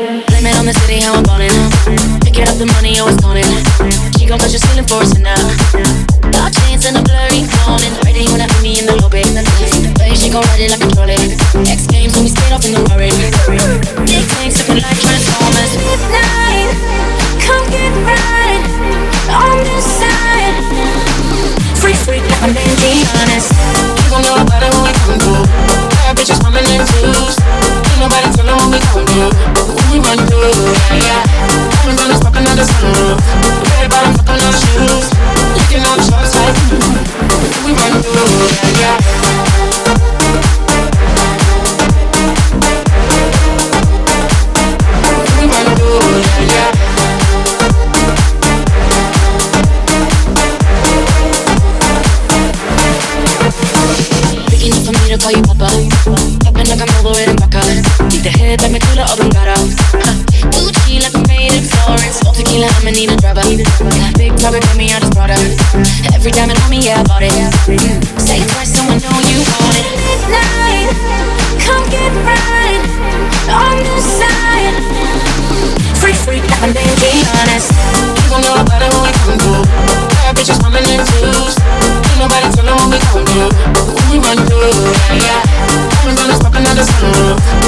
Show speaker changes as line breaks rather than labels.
Blame it on the city, how I'm ballin'. Picking up the money, always calling. She gon' touch your ceiling for us now. Dark chains and a blurry morning. Ready when I meet me in the lobby. Way she gon' ride it like a trolley. X Games when we skate off in the Rari. Big things looking like Transformers.
Midnight, come get right on this side.
Free, free, like my name, be honest. You gon' know about it when we come through. Bad bitches coming in twos. Ain't nobody tellin' what we gon' do. When we run through, yeah, yeah. I'm gonna stop another sunroof. Red bottom, fucking on shoes. Licking on the shots like we run through, yeah, yeah. We run through, yeah, yeah. Picking up for me to call you papa. Popping like I'm over in Baca. Need the head like Metula or Bengara. Gucci like I'm made in Florence. All tequila, I'ma need a driver. Big private, put me on his brother. Every diamond on me, yeah, I bought it. Say it twice, so I know you want it.
Midnight, come get right on this side.
Free, free, like my name, be honest. You gon' know about it when we come through. Bad bitches coming in twos. Ain't nobody tellin' what we gon' do. When we run through, yeah, yeah. I'm gonna stop another sunroof.